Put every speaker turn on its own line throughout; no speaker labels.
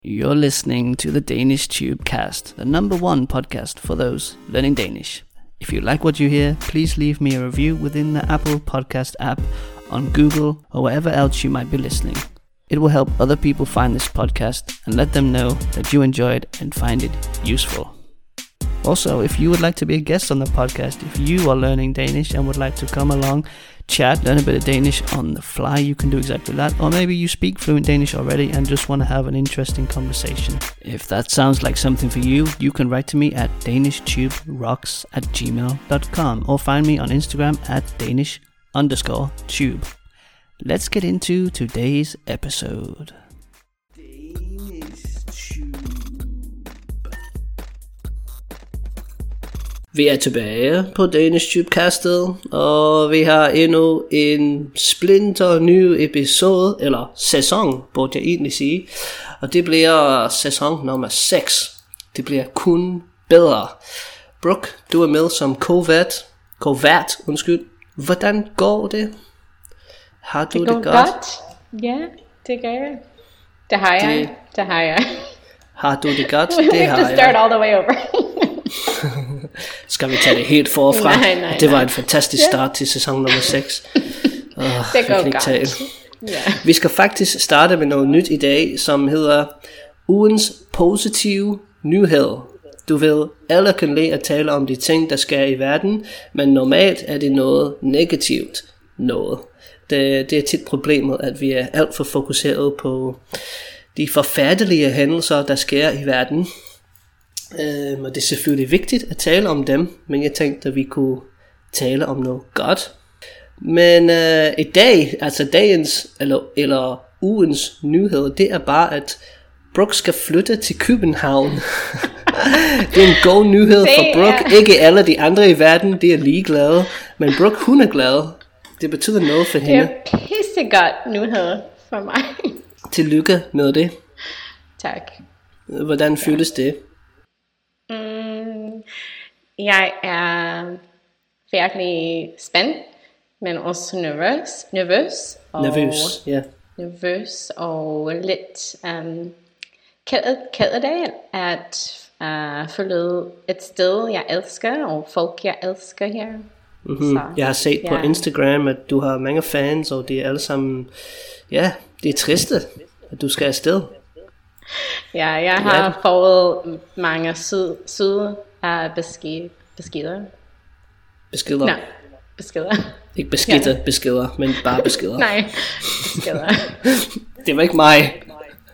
You're listening to the Danish Tubecast, the #1 podcast for those learning Danish. If you like what you hear, please leave me a review within the Apple Podcast app, on Google, or wherever else you might be listening. It will help other people find this podcast and let them know that you enjoy it and find it useful. Also, if you would like to be a guest on the podcast, if you are learning Danish and would like to come along, chat, learn a bit of Danish on the fly, you can do exactly that. Or maybe you speak fluent Danish already and just want to have an interesting conversation. If that sounds like something for you, you can write to me at danishtuberocks@gmail.com or find me on Instagram at Danish_tube. Let's get into today's episode. Vi er tilbage på Danish Tubecastet, og vi har endnu en splinter ny episode, eller sæson, burde jeg egentlig sige. Og det bliver sæson nummer 6. Det bliver kun bedre. Brooke, du er med som co-vært. Hvordan går det? Har du det godt?
Ja, det gør jeg. Det har jeg.
Har du det godt?
Det har jeg. We have to start all the way over.
Skal vi tage det helt forfra?
Nej.
Det var en fantastisk start til sæson nummer 6.
Det går godt.
Vi skal faktisk starte med noget nyt i dag, som hedder ugens positive nyhed. Du ved, alle kan lide at tale om de ting, der sker i verden, men normalt er det noget negativt noget. Det er tit problemet, at vi er alt for fokuseret på de forfærdelige hændelser, der sker i verden. Og det er selvfølgelig vigtigt at tale om dem, men jeg tænkte, at vi kunne tale om noget godt. Men i dag, altså dagens eller ugens nyhed, det er bare, at Brooke skal flytte til København. Det er en god nyhed for Brooke. Ikke alle de andre i verden, de er ligeglade, men Brooke, hun er glad. Det betyder noget for hende.
Det er pissegodt nyhed for mig.
Tillykke med det.
Tak.
Hvordan føles det?
Jeg er virkelig spændt, men også nervøs og lidt ked af det at forlade et sted jeg elsker og folk jeg elsker her.
Mm-hmm. Jeg har set på Instagram, at du har mange fans, og de er alle sammen, det er triste, at du skal afsted.
Ja, jeg har fået mange søde beskeder.
Beskeder?
Nej, beskeder.
Ikke beskeder, beskeder, men bare beskeder.
Nej, beskeder.
Det var ikke mig.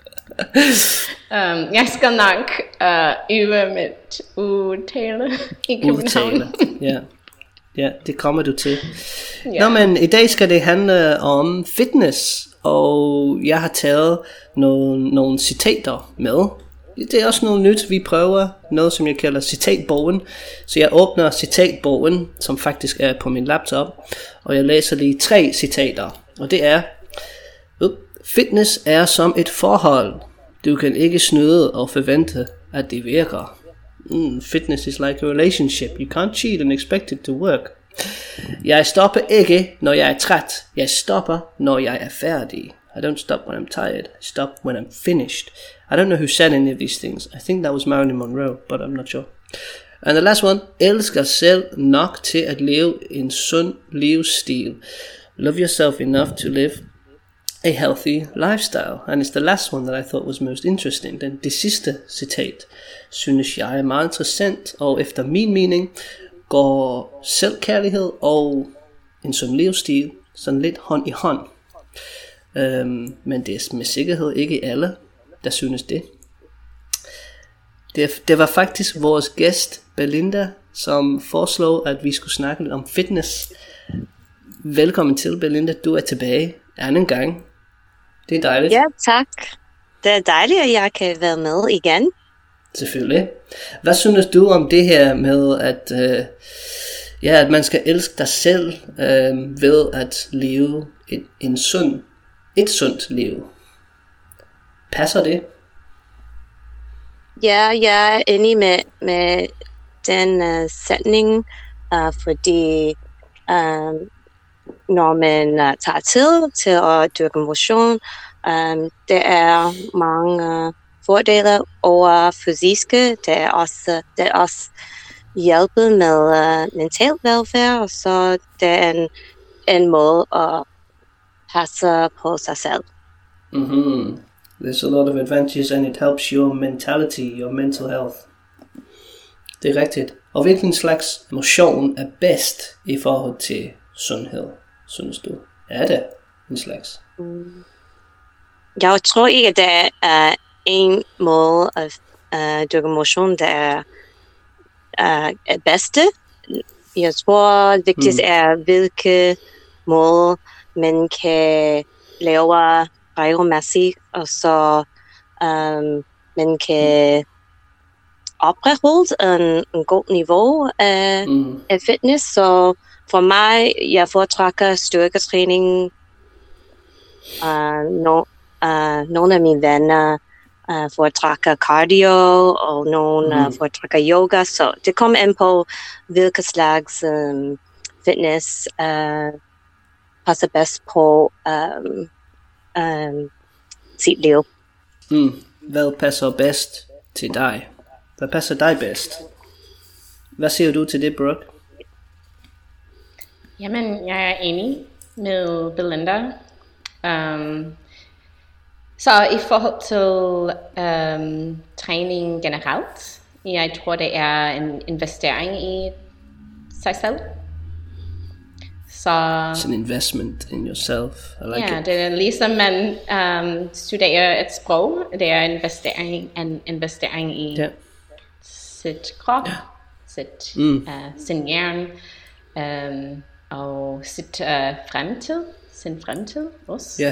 Jeg skal nok øve mit udtale i København.
Ja, det kommer du til. Nå, men i dag skal det handle om fitness, og jeg har taget nogle citater med. Det er også noget nyt, vi prøver, noget som jeg kalder citatbogen. Så jeg åbner citatbogen, som faktisk er på min laptop, og jeg læser lige 3 citater. Og det er: fitness er som et forhold. Du kan ikke snyde og forvente, at det virker. Fitness is like a relationship. You can't cheat and expect it to work. Jeg stopper ikke, når jeg er træt. Jeg stopper, når jeg er færdig. I don't stop when I'm tired. I stop when I'm finished. I don't know who said any of these things. I think that was Marilyn Monroe, but I'm not sure. And the last one: elsk dig selv nok til at leve en sund livsstil. Love yourself enough to live a healthy lifestyle. And it's the last one that I thought was most interesting. Det sidste citat synes jeg er meget interessant, og efter min mening går selvkærlighed og en sund livsstil sådan lidt hånd i hånd. Men det er med sikkerhed ikke alle, der synes det. Det var faktisk vores gæst Belinda, som foreslog, at vi skulle snakke lidt om fitness. Velkommen til, Belinda. Du er tilbage anden gang. Det er dejligt.
Ja, tak. Det er dejligt, at jeg kan være med igen.
Selvfølgelig. Hvad synes du om det her med, at man skal elske dig selv ved at leve et sundt liv? Passer det?
Ja, jeg er enig med den sætning, fordi når man tager tid til at dyrke motion, det er mange fordele over fysiske. Det er også hjælpe med mental velfærd, og så det er en måde at passe på sig selv.
Mm-hmm. There's a lot of advantages, and it helps your mentality, your mental health. Det er rigtigt. Og hvilken slags motion er bedst i forhold til sundhed, synes du? Er det en slags?
Jeg tror ikke, at der er en måde at dyrke motion, der er bedste. Jeg tror, det vigtigste er, hvilke måde man kan lave regelmæssigt, og så man kan opretholde en god niveau af fitness. Så for mig, jeg foretrækker styrketræning. Nogle af mine venner foretrækker cardio, og nogle foretrækker yoga. Så det kommer an på, hvilke slags fitness passer bedst på sit liv.
Hvad passer bedst til dig? Hvad passer dig bedst? Hvad siger du til det, Brooke?
Jamen, jeg er enig med Belinda. Så i forhold til træning generelt, jeg tror, det er en investering i sig selv.
It's an investment in yourself. I like it.
Det er ligesom man studerer et sprog. Det er en investering i sit krop, sin hjerne, og sin fremtid også.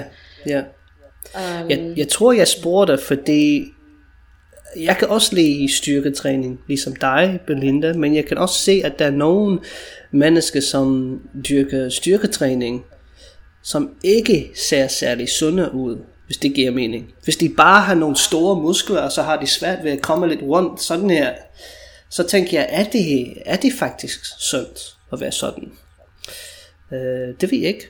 Jeg tror, jeg spurgte, fordi jeg kan også lide styrketræning, ligesom dig, Belinda, men jeg kan også se, at der er nogle mennesker, som dyrker styrketræning, som ikke ser særlig sunde ud, hvis det giver mening. Hvis de bare har nogle store muskler, så har de svært ved at komme lidt rundt sådan her, så tænker jeg, er det faktisk sundt at være sådan? Det ved jeg ikke.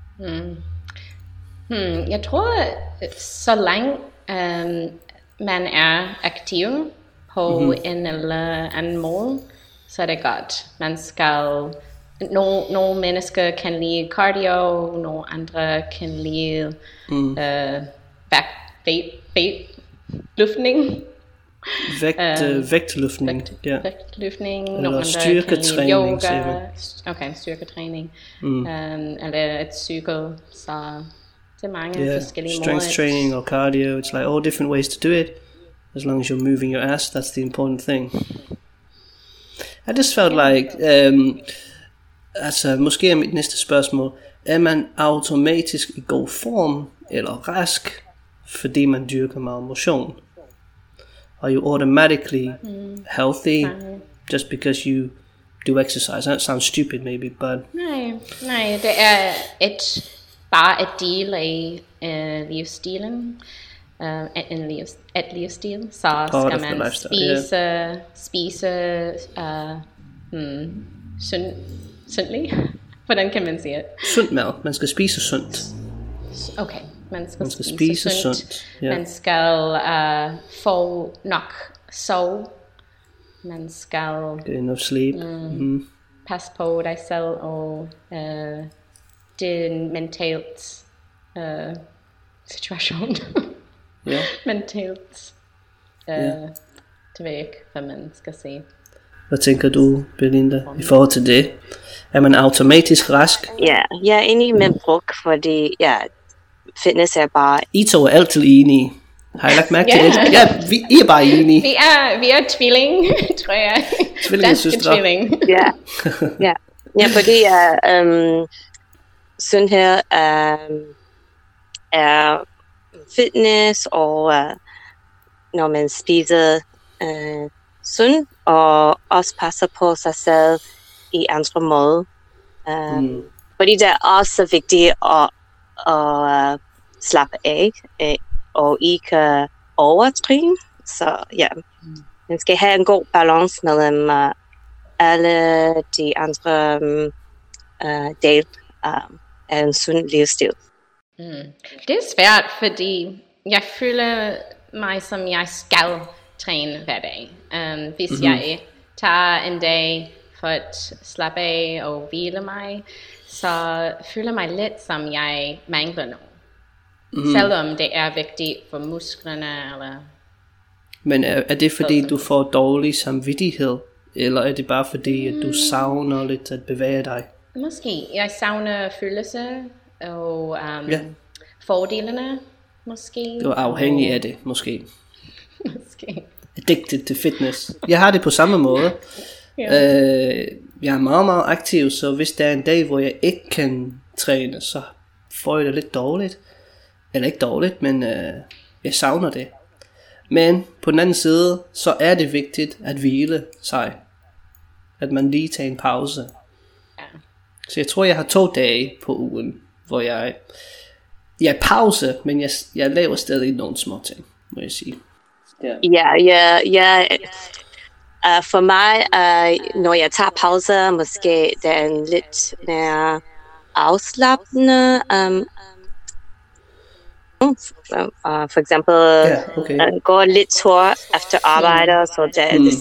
Jeg tror, så længe man er aktiv på en eller anden måde, så er det godt. Man skal... Nogle mennesker kan lide cardio, nogle andre kan lide vægtløftning.
Vægtløftning.
Vægtløftning.
Eller styrketræning.
Yoga. Okay, styrketræning. Eller et cykel. Så det er mange forskellige måder.
Strength training or cardio. It's like all different ways to do it. As long as you're moving your ass, that's the important thing. I just felt like, måske er mit næste spørgsmål, er man automatisk i god form eller rask, fordi man dyrker meget motion? Are you automatically healthy just because you do exercise? That sounds stupid maybe, but...
Nej, det er bare et del af livsstilen. Et livsstil, så skal man spise sundligt. Hvordan kan man sige det?
Sundt mad. Man skal spise sundt.
Okay, man skal spise sundt. Yeah. Man skal få nok sove. Man skal
get enough sleep.
Passe på dig selv og din mentalt situation. Mentalt. Det ved jeg ikke, hvad man skal sige.
Hvad tænker du, Belinda, i forhold til det? Er man automatisk rask?
Ja, jeg er enig med Brooke, fordi fitness er bare...
I to er altid enige. Har I lagt mærke til det? Ja, I er bare enige.
Vi er tvilling, tror jeg.
Tvillingesøstre.
Tvilling.
Ja, fordi sundhed er fitness, og når man spiser sundt, og også passer på sig selv i andre måder. Fordi det er også vigtigt at slappe af, og ikke overtræne. Så man skal have en god balance mellem alle de andre dele af en sund livsstil.
Det er svært, fordi jeg føler, mig, som jeg skal træne hver dag. Hvis jeg tager en dag for at slappe af og hvile mig, så føler mig lidt som jeg mangler noget. Selvom det er vigtigt for musklerne. Eller
Men er det fordi du får dårlig samvittighed? Eller er det bare fordi at du savner lidt at bevæge dig?
Måske. Jeg savner følelser og fordelene. Måske.
Du er afhængig af det, måske.
Måske.
Addicted til fitness. Jeg har det på samme måde. Jeg er meget, meget aktiv, så hvis der er en dag, hvor jeg ikke kan træne, så får jeg det lidt dårligt. Eller ikke dårligt, men jeg savner det. Men på den anden side, så er det vigtigt at hvile sig. At man lige tager en pause.
Ja.
Så jeg tror, jeg har 2 dage på ugen, hvor jeg er pause, men jeg laver stadig nogle små ting, må jeg sige.
Ja. For mig, når jeg tager pauser, måske det er en lidt mere afslappende. For eksempel gå lidt tur efter arbejde, så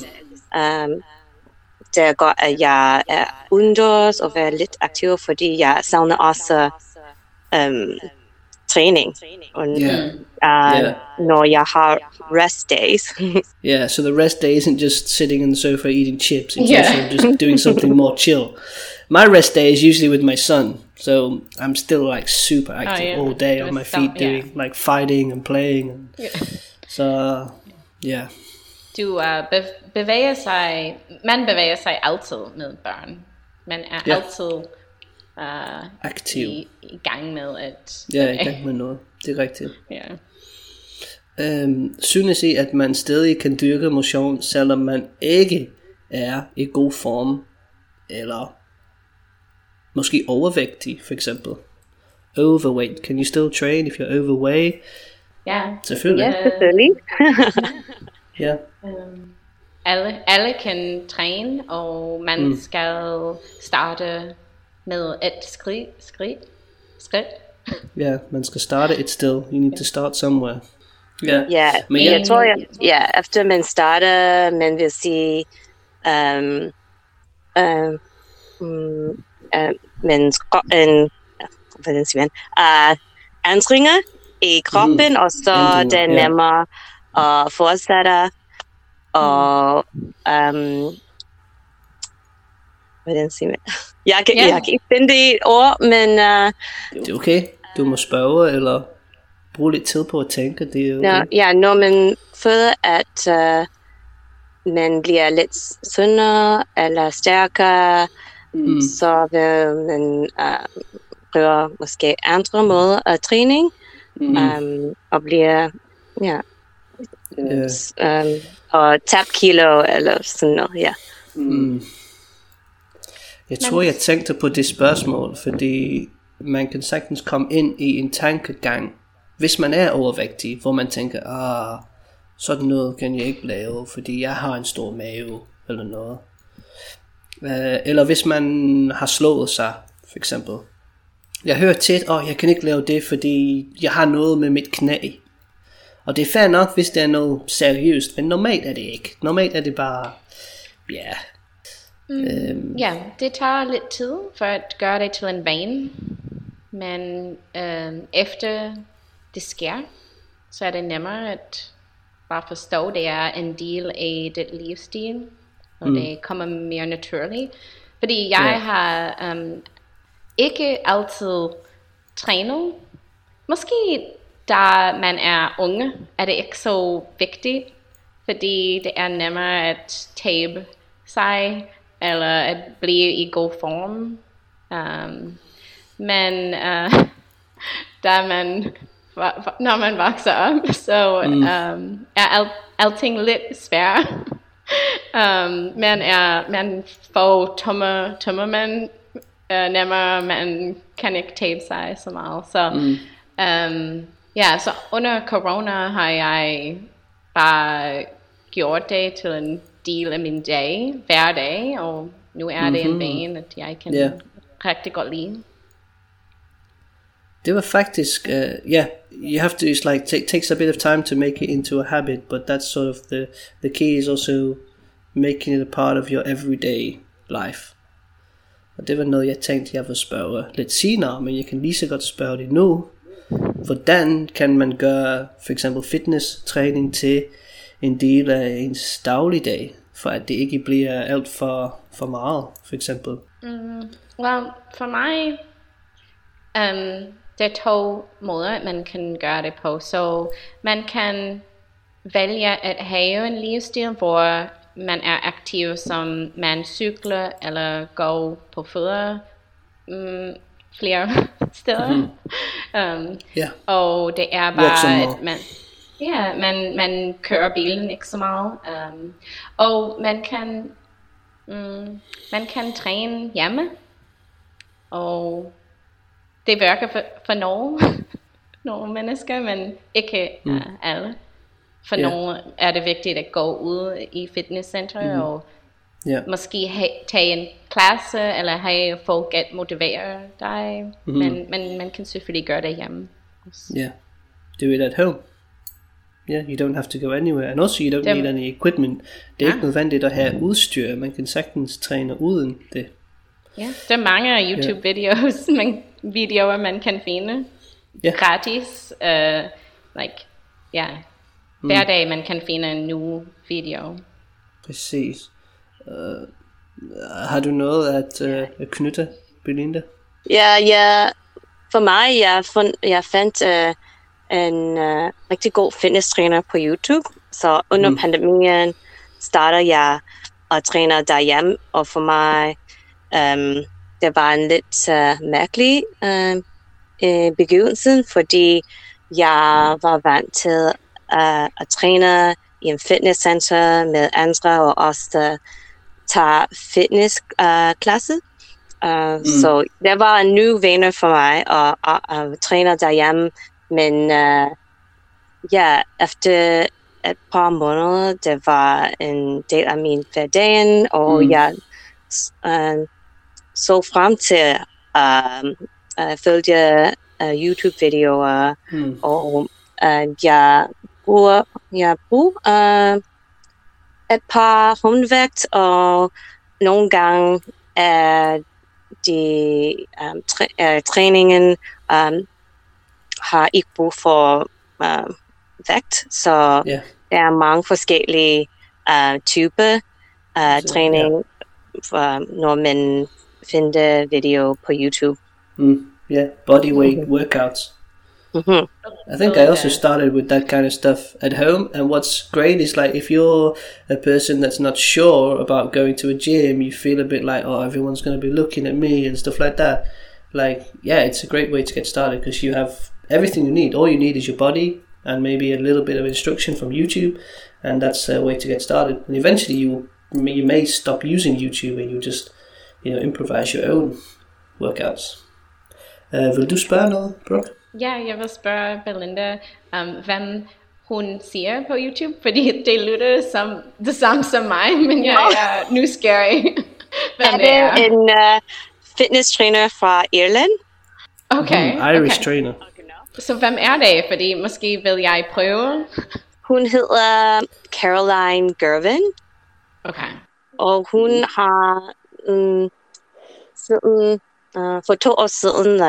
det går, at jeg er udendørs og være lidt aktiv, fordi jeg savner også træning. Og, når jeg har rest days.
So the rest day isn't just sitting on the sofa eating chips. It's also just doing something more chill. My rest day is usually with my son, so I'm still like super active all day on my feet, doing like fighting and playing. And, so
Du bevæger sig. Man bevæger sig altid med børn. Man er altid
aktiv.
I gang med at...
Ja, i gang med noget. Det er rigtigt. Synes I, at man stadig kan dyrke motion, selvom man ikke er i god form, eller måske overvægtig, for eksempel? Overweight. Can you still train if you're overweight?
Ja.
Selvfølgelig.
Ja, selvfølgelig.
Ja.
Alle kan træne, og man skal starte med et skridt.
Ja, man skal starte et sted. You need to start somewhere.
Men jeg tror, efter man starter, man vil sige, ændringer i kroppen, og så det er nemmere at fortsætte, og hvordan siger man? Jeg kan ikke finde det i et ord, men...
Det er okay. Du må spørge, eller bruge lidt tid på at tænke. Det er okay.
Når man føler, at man bliver lidt sundere eller stærkere, så vil man prøve måske andre måder af træning, og bliver... og tabe kilo, eller sådan noget,
Jeg tror, jeg tænkte på det spørgsmål, fordi man kan sagtens komme ind i en tankegang, hvis man er overvægtig, hvor man tænker, sådan noget kan jeg ikke lave, fordi jeg har en stor mave, eller noget. Eller hvis man har slået sig, for eksempel. Jeg hører tit, jeg kan ikke lave det, fordi jeg har noget med mit knæ. Og det er fair nok, hvis det er noget seriøst, men normalt er det ikke. Normalt er det bare,
det tager lidt tid for at gøre det til en vane. Men efter det sker, så er det nemmere at bare forstå, at det er en del af dit livsstil, og det kommer mere naturligt. Fordi jeg har ikke altid trænet. Måske da man er unge, er det ikke så vigtigt, fordi det er nemmere at tabe sig, eller at blive i god form. Men når man vokser op, så er alting lidt svært. Man får tømmermænd nemmere, man kan ikke tabe sig så meget. Så så under corona har jeg bare gjort det til en del af min dag, hver dag, og nu er det en vane, at jeg kan rigtig godt lide.
Det var faktisk, you have to, it's like, takes a bit of time to make it into a habit, but that's sort of the key is also making it a part of your everyday life. Og det var noget, jeg tænkte, jeg ville spørge lidt senere, men jeg kan lige så godt spørge det nu. Hvordan kan man gøre for eksempel fitness-træning til en del af ens dagligdag, for at det ikke bliver alt for meget, for eksempel?
Well, for mig, det er 2 måder, man kan gøre det på. Så man kan vælge at have en livsstil, hvor man er aktiv, som man cykler eller går på fødder flere steder. Og det er bare, at man kører bilen ikke så meget. Og man kan træne hjemme. Og det virker for nogle mennesker, men ikke alle. For nogle er det vigtigt at gå ud i fitnesscenter og måske tage en klasse, eller have folk at motivere dig. Men man kan selvfølgelig gøre det hjemme.
Do it at home. You don't have to go anywhere. And also you don't need any equipment. Det er ikke nødvendigt at have udstyr. Man kan sagtens træne uden det.
Der er mange YouTube-videoer, man kan finde. Gratis. Hver dag man kan finde en ny video.
Præcis. Har du noget at knytte, Belinda?
Ja. For mig, jeg fandt en rigtig god fitnesstræner på YouTube. Så under pandemien starter jeg at træne derhjemme. Og for mig, det var en lidt mærkelig begivenhed, fordi jeg var vant til at træne i en fitnesscenter med andre, og også der tager fitnessklasse. Så det var en ny vane for mig at træne derhjemme. Men efter et par måneder, det var en del af min hverdagen, og jeg så frem til at følge YouTube-videoer, og jeg bruger et par håndvægt, og nogle gange er træningen har ikke brug for vægt, så der er mange forskellige typer træning, når man finder video på YouTube.
Bodyweight workouts. I think I also started with that kind of stuff at home, and what's great is like if you're a person that's not sure about going to a gym, you feel a bit like, oh, everyone's going to be looking at me and stuff like that. Like, it's a great way to get started because you have everything you need. All you need is your body and maybe a little bit of instruction from YouTube, and that's a way to get started. And eventually you may stop using YouTube and you just improvise your own workouts. Vil du spørge noget, Brooke?
Ja, jeg vil spørge Belinda, hvem hun ser på YouTube, fordi det lyder som det samme som mig, men jeg er nysgerrig.
Hvem det er en fitness-træner fra Irland.
Okay.
Irish trainer.
Så hvem er det? Fordi måske vil jeg prøve.
Hun hedder Caroline Gervin.
Okay.
Og hun har siden for 2 år siden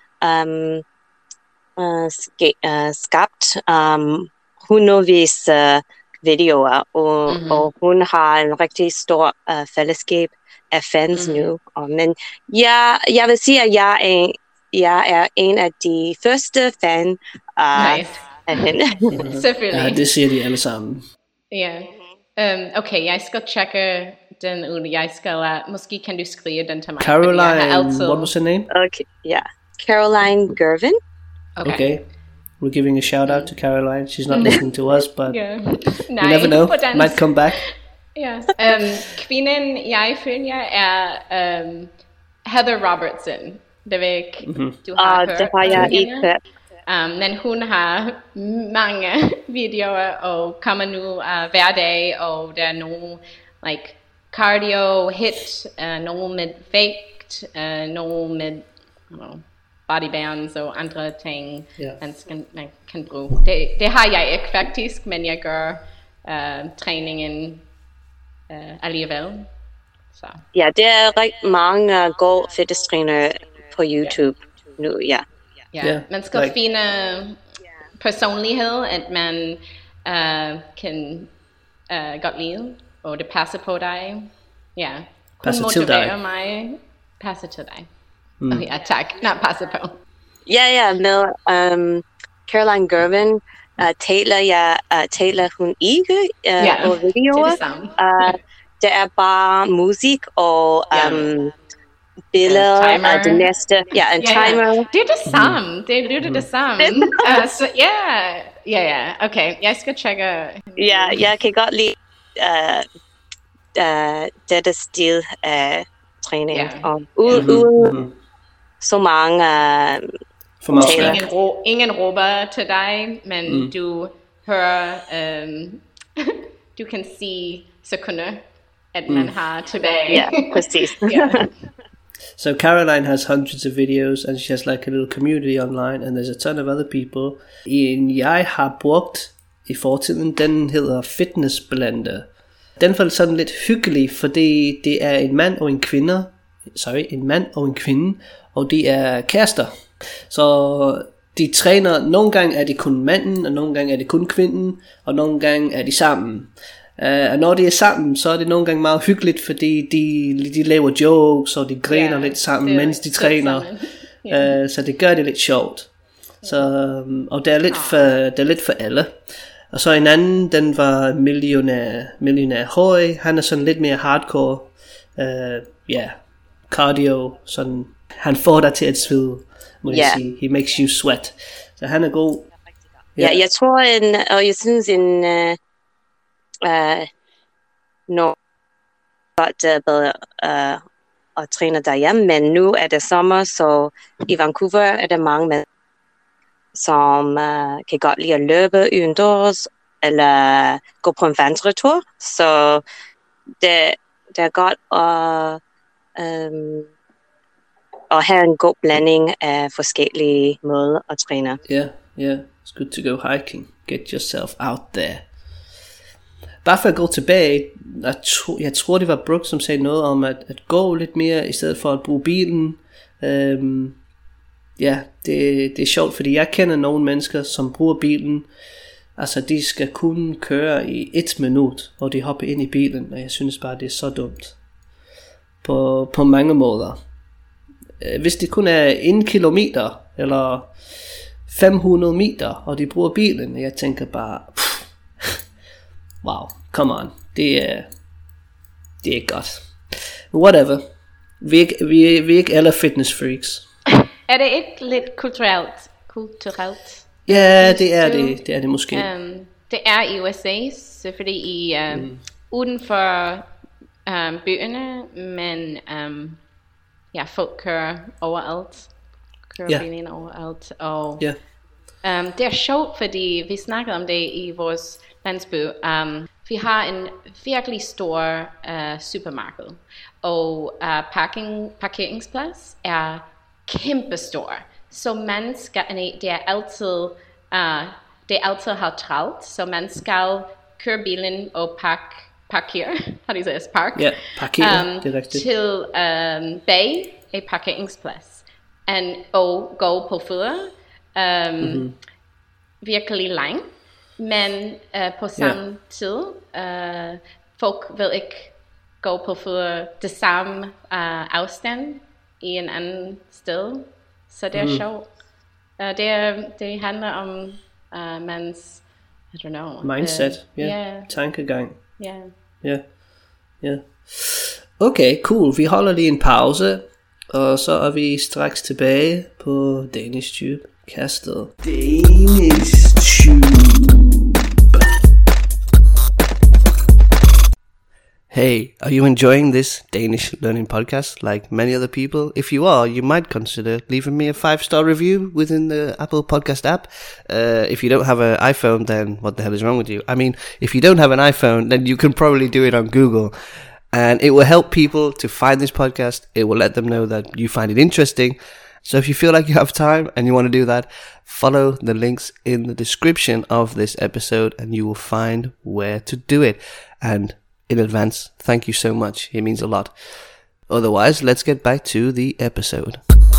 skabt hundredvis videoer, og hun har en rigtig stor fællesskab af fans nu. Men jeg vil sige, at jeg er en af de første fan af hende.
Selvfølgelig.
Ja, det siger de alle sammen.
Ja. Okay, jeg skal tjekke den ud. Jeg skal, måske kan du skrive den til mig.
Caroline, what was her name?
Okay, Caroline Gervin.
Okay. We're giving a shout out to Caroline. She's not listening to us, but you never know. Might come back.
Kvinden jeg følger er Heather Robertson. Det ved ikke, du har hørt.
Det har jeg ikke hørt.
Men hun har mange videoer og kommer nu hver dag, og der er nogle cardio hit, nogle med vægt, nogle med bodybands og andre ting,
Ja.
man kan bruge. Det har jeg ikke faktisk, men jeg gør træningen alligevel. Så.
Ja, det er rigtig mange gode fitnesstrænere på YouTube nu, ja.
Ja, man skal finde personlighed, at man kan godt lide, og det passer på dig. Ja, kun motiverer mig, passer til dig. Ja, tak. Nej, passer på.
Ja, med Caroline Girvin taler hun ikke på videoer.
Det er det samme.
Det er bare musik og billeder af det næste. Ja, en timer.
Det er det samme. Det lyder det samme. Så okay. Jeg skal tjekke.
Ja, jeg kan godt lide dette stil af træning. Og uden så mange
ingen råber til dig, men du hører, du kan sige sekunder, at man har tilbage.
Ja, præcis.
So Caroline has hundreds of videos, and she has like a little community online, and there's a ton of other people. En jeg har brugt i fortiden, den hedder Fitness Blender. Den var sådan lidt hyggelig, fordi det er en mand og en kvinde, og de er kærester. Så de træner, nogle gange er det kun manden, og nogle gange er det kun kvinden, og nogle gange er de sammen. Og når de er sammen, så er det nogle gange meget hyggeligt, fordi de laver jokes, og de griner lidt sammen, mens de træner. Så det gør det lidt sjovt. Så, og det er lidt for alle. Og så en anden, den var millionær høj. Han er sådan lidt mere hardcore. Cardio. Sådan, han får dig til at svede, må jeg sige. He makes you sweat. Så han er god.
Ja, jeg tror, og jeg synes når godt bedre at træne derhjemme, men nu er det sommer, så i Vancouver er der mange mænd, som kan godt lide at løbe udendørs, eller gå på en vandretur, så det er godt at have en god blanding af forskellige måder at træne.
Yeah, it's good to go hiking. Get yourself out there. Bare for at gå tilbage, jeg tror det var Brooke, som sagde noget om at gå lidt mere, i stedet for at bruge bilen. Det er sjovt, fordi jeg kender nogle mennesker, som bruger bilen. Altså de skal kun køre i 1 minut, og de hopper ind i bilen, og jeg synes bare det er så dumt. På mange måder. Hvis det kun er 1 kilometer, eller 500 meter, og de bruger bilen, jeg tænker bare, wow, come on, det er ikke godt. Whatever. Vi er ikke alle fitness freaks.
Er det ikke lidt kulturelt?
Ja, det er det måske.
Det er i USA, så fordi uden for byerne, men folk kører overalt. Bilen overalt. Og det er sjovt, fordi vi snakkede om det i vores landsby. Vi har en virkelig stor supermarked, og parkeringsplads er kæmpestor. Så man skal, det er altid har travlt, så man skal køre bilen og parkere. How do you say this?
Parkere, det er rigtigt.
Til bag et parkeringsplads. Og gå på fødder. Virkelig lang. Men på samme tid, folk vil ikke gå på fødder det samme afstand i en anden sted. Så det er sjovt. Det handler om mans, I don't know.
Mindset, tankegang.
Ja.
Okay, cool. Vi holder lige en pause, og så er vi straks tilbage på Danish Tube kastet. Danish Tube. Hey, are you enjoying this Danish learning podcast like many other people? If you are, you might consider leaving me a 5-star review within the Apple Podcast app. If you don't have an iPhone, then what the hell is wrong with you? I mean, if you don't have an iPhone, then you can probably do it on Google. And it will help people to find this podcast. It will let them know that you find it interesting. So if you feel like you have time and you want to do that, follow the links in the description of this episode and you will find where to do it. And in advance, thank you so much. It means a lot. Otherwise, let's get back to the episode.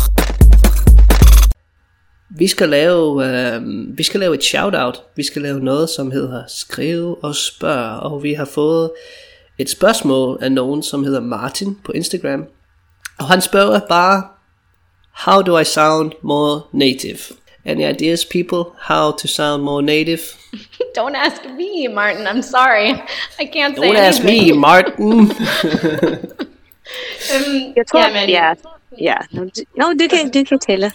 Vi skal lave et shout-out. Vi skal lave noget, som hedder Skriv og Spørg. Og vi har fået et spørgsmål af nogen, som hedder Martin på Instagram. Og han spørger bare, how do I sound more native? Any ideas, people, how to sound more native?
Don't ask me, Martin. I'm sorry. I can't say anything.
Don't ask me, Martin.
Jeg tror, ja. No, du kan tælle.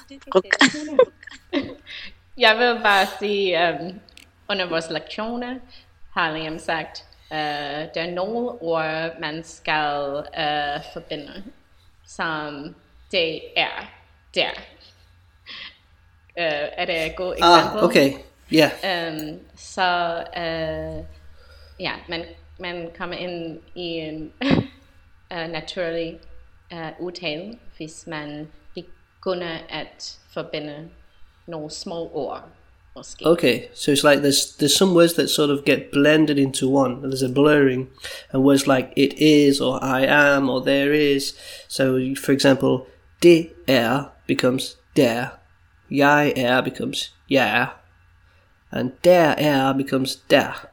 Jeg vil bare sige, under vores lektioner har Liam sagt, der er nogle ord, man skal forbinde, som det er der. Er det et godt eksempel?
Okay, yeah.
Så ja, man kommer ind i en naturlig udtale, hvis man begynder at forbinde nogle små ord. Måske.
Okay, so it's like there's some words that sort of get blended into one. There's a blurring, and words like it is or I am or there is. So for example, det er becomes der, jeg er becomes jeg er, and der er becomes der.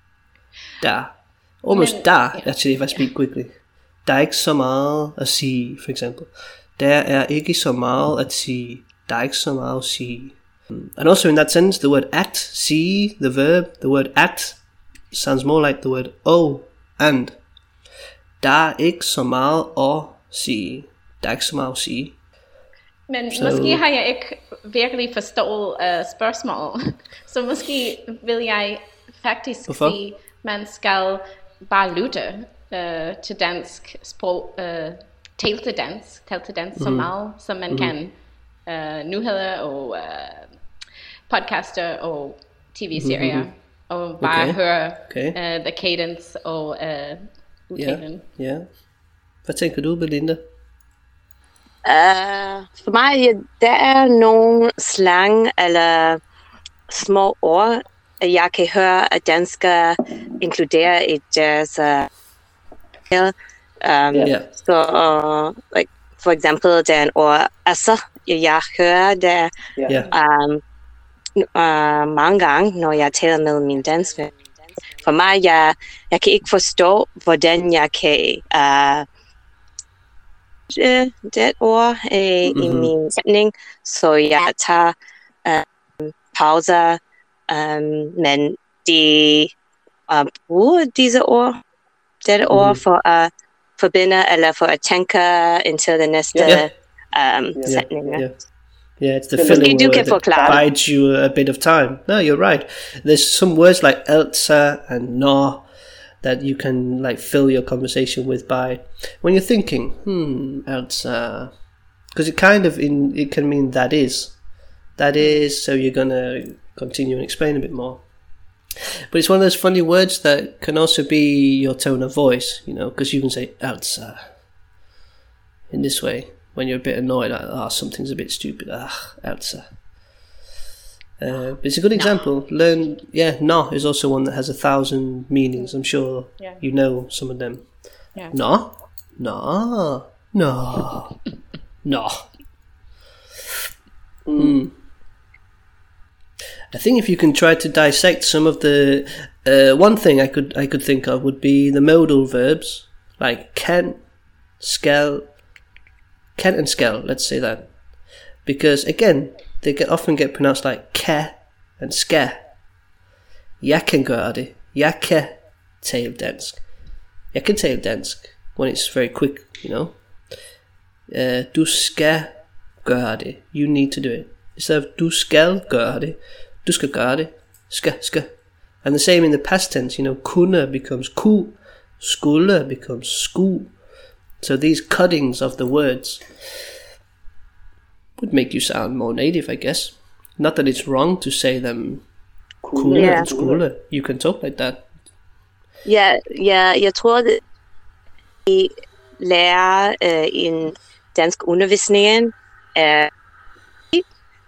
Almost der, actually, if I speak quickly. Der er ikke så meget at sige, for example. Der er ikke så meget at sige. Der er ikke så meget at sige. And also in that sentence, the word at, see, the verb, the word at sounds more like the word oh and. Der er ikke så meget at sige. Der er ikke så meget at sige.
Men måske har jeg ikke virkelig forstået spørgsmålet. Så måske vil jeg faktisk sige, man skal bare lytte til dansk sprog, tale til dansk så meget, som man kan. Nyheder og podcaster og tv-serier, og bare høre the cadence og udtalen.
Ja. Hvad tænker du, Belinda?
For mig, der er nogle slang eller små ord, jeg kan høre, at danskere inkluderer i deres så like, for eksempel, der er en ord, altså, jeg hører det mange gange, når jeg taler med min dansk ven. For mig, jeg kan ikke forstå, hvordan jeg kan det ord i min sætning, så jeg tager pauser, men de bruger disse ord, dette ord for at forbinde eller for at tænke indtil det næste sætning.
Yeah, it's the filling word that bides you a bit of time. No, you're right. There's some words like altså and nå that you can like fill your conversation with by when you're thinking, altså, because it kind of it can mean that is, so you're gonna continue and explain a bit more. But it's one of those funny words that can also be your tone of voice, you know, because you can say altså in this way. When you're a bit annoyed, like, something's a bit stupid. Altså. But it's a good example. No is also one that has 1,000 meanings. I'm sure you know some of them.
Yeah.
No. I think if you can try to dissect some of the one thing I could think of would be the modal verbs like can, skal and skal, let's say that, because again they often get pronounced like ka and ska. Jeg kan gøre det. Jeg kan tale dansk. Jeg kan tale dansk when it's very quick, you know. Du skal gøre det. You need to do it. Instead of du skal gøre det, du skal gøre det. Skal. And the same in the past tense, you know. Kunne becomes ku. Skulle becomes sku. So these cuttings of the words would make you sound more native, I guess. Not that it's wrong to say them kunne and skole. You can talk like that.
Jeg tror, at vi lærer en dansk undervisning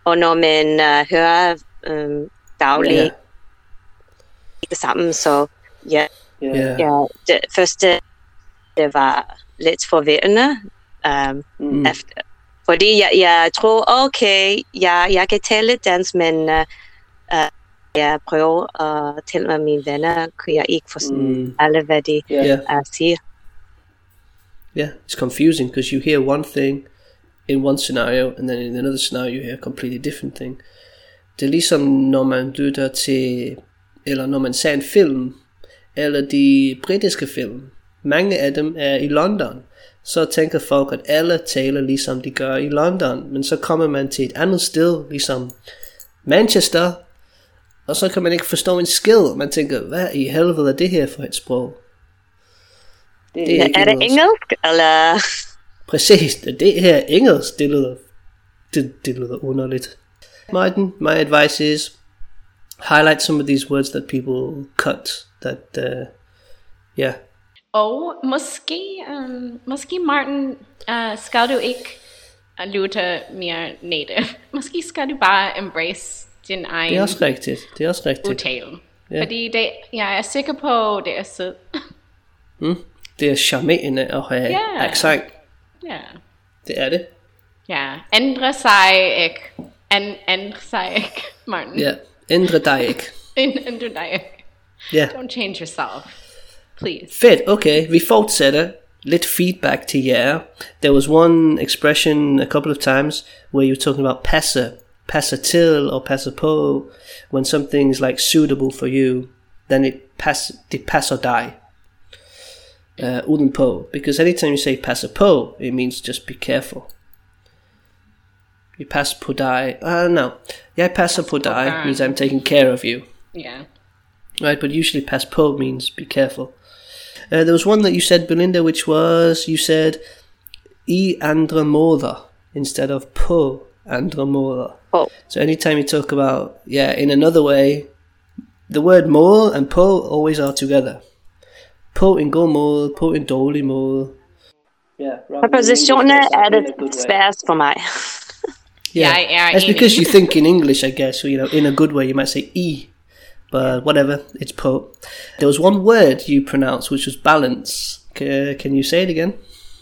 og når man hører dagligt sammen, så ja, det første, det var lidt forvirrende, efter, fordi jeg tror, okay, jeg kan tale dansk, men jeg prøver at tale med mine venner, kunne jeg ikke forstå alle, hvad de siger.
Yeah, it's confusing because you hear one thing in one scenario, and then in another scenario you hear a completely different thing. Det er ligesom når man lytter til, eller når man ser en film, eller de britiske film. Mange af dem er i London. Så tænker folk, at alle taler ligesom de gør i London. Men så kommer man til et andet sted, ligesom Manchester, og så kan man ikke forstå en skid. Man tænker, hvad i helvede er det her for et sprog?
Det er det engelsk, eller?
Præcis, det her engelsk, det lyder underligt. Martin, my advice is, highlight some of these words that people cut, that,
Og måske Martin, skal du ikke lytte mere native. Måske skal du bare embrace din egen
det er også rigtigt.
udtale. Yeah. Fordi jeg er sikker på, det er sød.
Det er charmerende at have accent.
Ja.
Det er det.
Ja, ændre sig ikke, Martin.
Ja, ændre dig ikke.
Ændre dig ikke.
Yeah.
Don't change yourself. Please.
Fedt, okay. Vi fortsætter. Lidt feedback til jer. There was one expression a couple of times where you were talking about passer til or passer på. When something is like suitable for you, then det passer dig. Uden på. Because anytime you say passer på, it means just be careful. Jeg passer på dig. No. Jeg passer på dig means I'm taking care of you.
Yeah.
Right, but usually pass po means be careful. There was one that you said, Belinda, which was, you said, I andre måder instead of på andre måder.
Oh.
So anytime you talk about, in another way, the word måde and på always are together. På en god måde, på en dårlig måde.
Prepositioner er det sværest for mig.
That's because you think in English, I guess. So, in a good way, you might say I. But whatever, it's po. There was one word you pronounced which was balance. Can you say it again?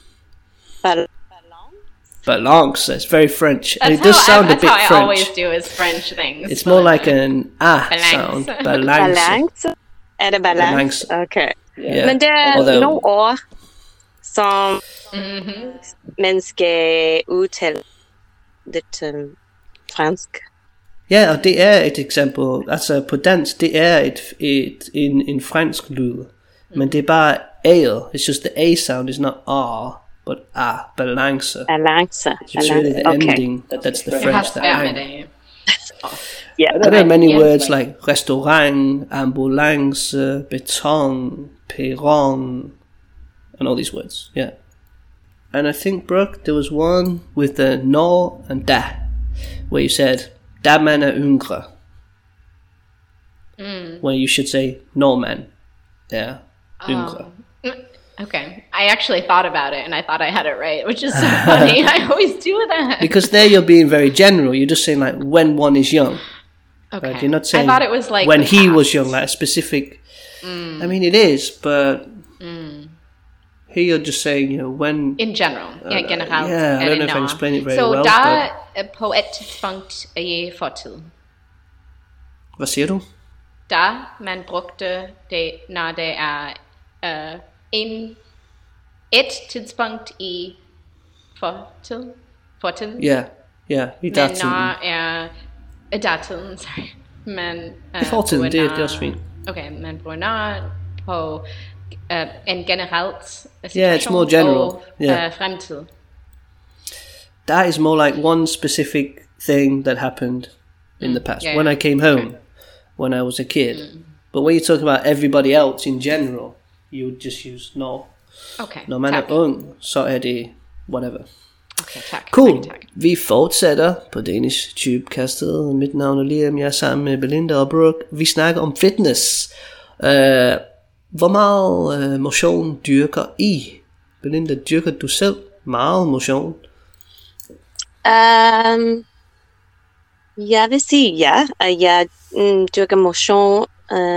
Balance. It's very French. And it does sound a bit French.
That's how I always do is French things.
It's more like an sound. Balance.
Balance? Er det balance? Okay.
Yeah.
Men der er nogle ord, som man skal udtale lidt fransk.
Ja, og det er et eksempel. Altså på dansk, det er en fransk lyd. Men det er bare A'et. It's just the A sound is not R, but balance.
Balance.
It's really the ending. That's the French. There are many words like restaurant, ambulance, beton, perron, and all these words. Yeah. And I think, Brooke, there was one with the når and da, where you said, da man er yngre. When you should say, når man er yngre.
Okay. I actually thought about it and I thought I had it right, which is so funny. I always do that.
Because there you're being very general. You're just saying like when one is young.
Okay.
Right? You're not saying
I thought it was like
when he was young, like a specific. I mean, it is, but here you're just saying, when.
In general. Generelt.
Yeah, I don't know if I can explain it very well.
Så der på et tidspunkt i fortid.
Hvad siger du?
Da man brugte det, når det er et tidspunkt i fortid.
Ja, i datiden.
Men når er datiden, sorry. Men
i fortiden, det er også fint.
Okay, man bruger når på en generelt situation.
Yeah, it's more general.
Og fremtid.
That is more like one specific thing that happened in the past. When I came home, when I was a kid. But when you talk about everybody else in general, you would just use når.
Okay,
når man er ung, så er det whatever.
Okay, tak.
Cool. Tak. Vi fortsætter på Danish Tubecastet. Mit navn er Liam, jeg er sammen med Belinda og Brooke. Vi snakker om fitness. Hvor meget motion dyrker I? Belinda, dyrker du selv meget motion?
Jeg vil sige ja. Jeg dyrker motion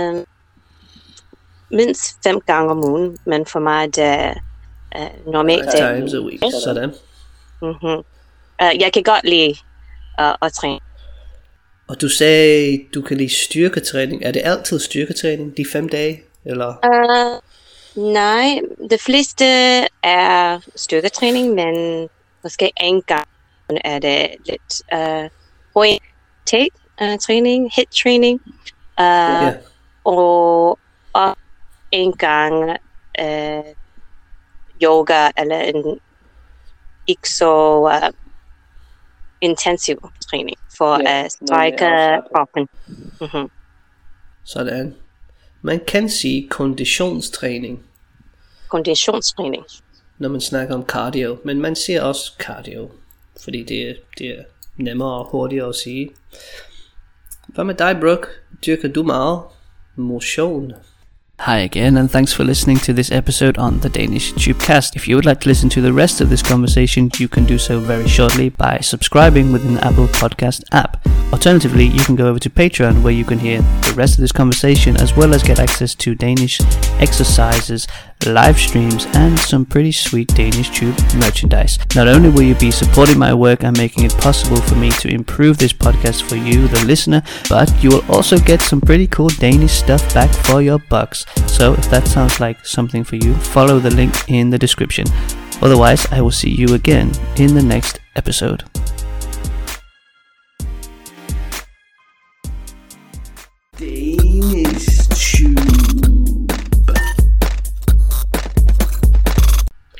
mindst 5 gange om ugen, men for mig det er normalt.
5 times a week, sådan.
Jeg kan godt lide at træne.
Og du sagde, du kan lide styrketræning. Er det altid styrketræning, de 5 dage? Eller?
Nej, det fleste er styrketræning, men måske en gang er det lidt træning, hit træning, og en gang yoga eller en ikke så intensiv træning for at strække kroppen.
Sådan. Man kan sige konditionstræning.
Konditionstræning.
Når man snakker om cardio, men man siger også cardio, fordi det er nemmere og hurtigere at sige. Hvad med dig, Brooke? Dyrker du meget motion? Hi again, and thanks for listening to this episode on the Danish Tubecast. If you would like to listen to the rest of this conversation, you can do so very shortly by subscribing within the Apple Podcast app. Alternatively, you can go over to Patreon, where you can hear the rest of this conversation, as well as get access to Danish exercises, live streams, and some pretty sweet Danish Tube merchandise. Not only will you be supporting my work and making it possible for me to improve this podcast for you, the listener, but you will also get some pretty cool Danish stuff back for your bucks. So if that sounds like something for you, follow the link in the description. Otherwise, I will see you again in the next episode.